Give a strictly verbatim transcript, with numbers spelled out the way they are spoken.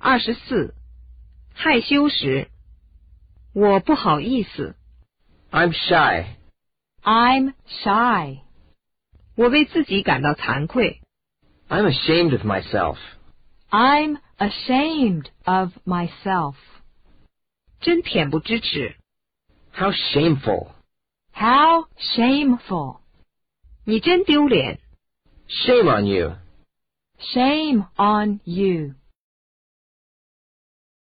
二十四，害羞时，我不好意思。 I'm shy. I'm shy. 我为自己感到惭愧。 I'm ashamed of myself. I'm ashamed of myself. 真恬不知耻。 How shameful. How shameful. 你真丢脸。 Shame on you. Shame on you.